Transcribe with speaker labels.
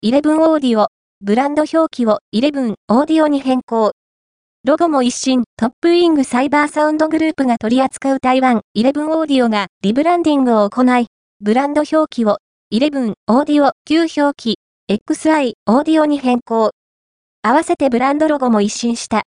Speaker 1: 11オーディオ、ブランド表記を11オーディオに変更。ロゴも一新、トップウィングサイバーサウンドグループが取り扱う台湾11オーディオがリブランディングを行い、ブランド表記を11オーディオ旧表記 XI オーディオに変更。合わせてブランドロゴも一新した